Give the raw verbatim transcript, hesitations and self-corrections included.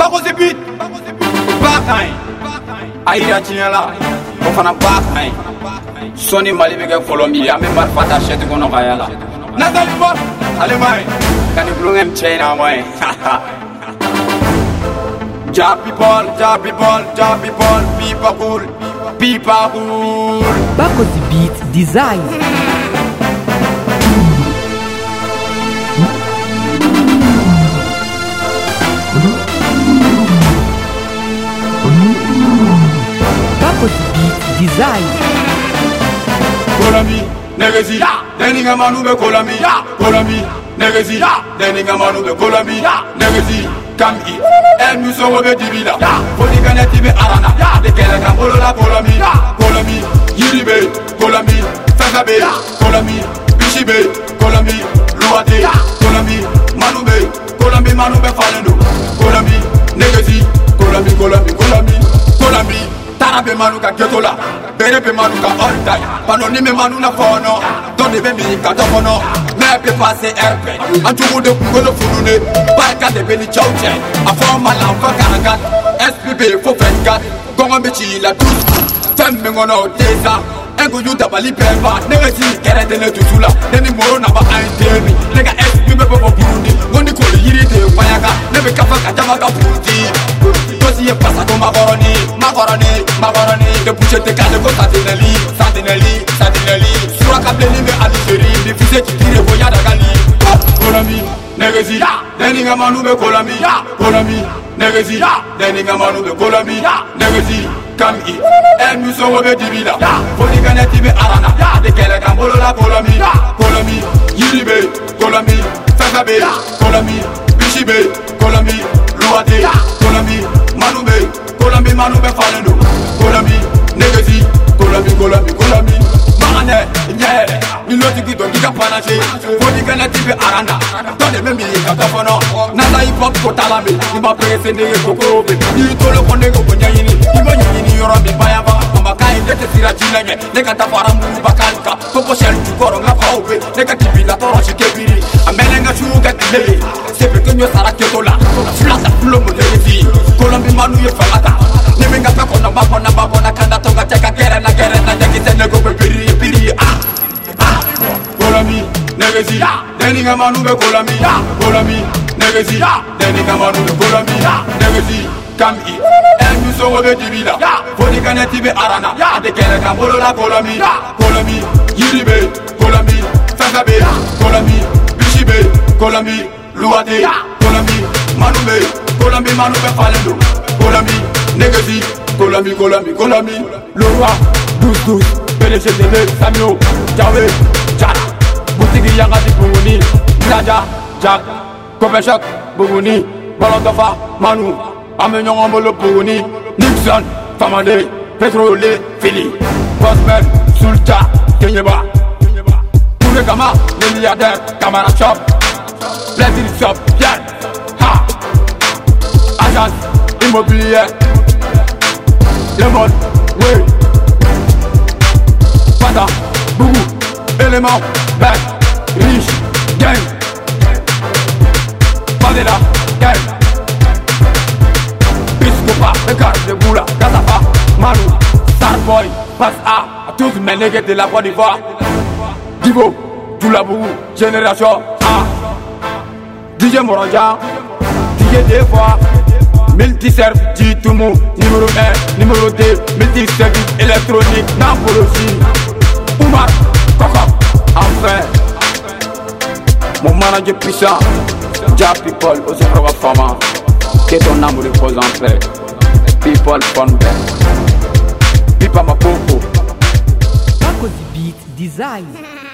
Bakosi beat Bakay Aïda Tignala Ofana Bakay Soni Mali bege Colombia Ame marfata sheti kono kayala Nathalie Bob Alemay Kani blungem China moy Ja people, ja people, ja people, people cool, people cool. Bakosi beat design. Bakosi beat design. Kolami, negezi, deninga manu be kolami, kolami, negezi, deninga manu be kolami, negezi. Come eat, and you saw a divida. For the Ganeti Arana, the Kelaga, Polola, Polami, Polami, Yiribe, Polami, Sakabe, Polami, Bishibe, Polami, Luate, Polami, Manube, Polami, Manube Falendo, Polami, Negezi, Polami, Polami, Polami, Polami, Tarabe Manuka Ketola, Berebe Manuka Altai, Panonime Manuna Fono, Don't even be Katafono. Nepe passe R P, un tubo de Kungolo Furune, Baka de Beli Chauche, a former Lampa Karagat, S P B for Fengat, Gongabichi la Tous, Femmengono Tesa, Ego Yuta Bali Pemba, Negati, Keratene Tutula, Neni Morona Aintemi, Nega S P B for Burundi, Gondiko Yiri de Wayaga, Nebe Kafaka Jamaka Puti, Tosi Pasato Macoroni, Macoroni, Macoroni, the Puchete Cadego Satinelli, Satinelli, Satinelli, Suraka Bleni Algérie, the Fusette Tire Boyada Gali, Kolami, Negezi, Deninga Manu be Kolami, Kolami, Negezi, Deninga Manu be Kolami, Negezi, come eat, and you saw a divida, for the Ganeti Arana, the Kelaga Polola, Kolami, Kolami, Yiribe, Kolami, Sakabe, Kolami, Bishibe, Kolami, Luate, Kolami, Manube, Kolami, Manube Falendo, Kolami, Negezi, Kolami, Kolami, Kolami, Mane, yeah, you know to get on the Panache, for the Ganeti Arana, don't let me Catafono, Nana hip hop Kotalami, you my place in the Coco, you told a Conego Ponyani, even in Europe, Bayava, Makai, let the Sirachina, they got a Faramu Bakanka, Coco Shell to Corona Pope, they got to be La Torre Kebiri, a Melenga Sugar Lily, Sepetuno Saraketola, Flata Plumo Lady, Colombi Manu Falata, living a pack on a map on a map on a Kanatoga, take a care and a care and a jacket and a go Piri, Piri, ah, ah, Colami, Negezi, Deninga Manu be Colami, Colami, Negezi, Deninga Manu be Colami, Negezi, come eat, and you saw a divida, for the Ganeti Arana, the Kelaga Polola, Colami, Colami, Yiribe, Colami, Sakabe, Colami, Bishibe, Colami, Luate, Colami, Manube, Colami, Manube Falendo, Colami, Negezi, Colami, Colami, Colami, le roi, douze douze, P D G T V, Samio, Jawe, Jara, Boutigi Yangati Bunguni, Naja, Jack, Kopechak, Bunguni, Balontofa, Manu, Amenyon Ambolo Bunguni, Nixon, Famade, Petrole, Philly, Bosman, Sulta, Kenyeba, Kama, les milliardaires, Camara Shop, Plaisir Shop, Yann, Ha, Agence Immobilière, Le Monde, Oui, Pata, Bougou, Élément, Bec, Riche, Gang, Padela, Gang, Biscopa, Bekar, de Goula, Kazafa, Manu, Starboy, Passe A, à tous mes nègres de la Côte d'Ivoire. Divo, Doulabou, Génération A, D J Moranja, D J Defois, Multiserve, Djitoumou, numéro un, numéro deux, Multiservice électronique, Nampologie, Oumar, Kokop, enfin, mon manager puissant, Ja People, aussi Proba Fama, que ton amour repose en paix, People Fun Band, Pipa Mapopo, Bakosi beat design.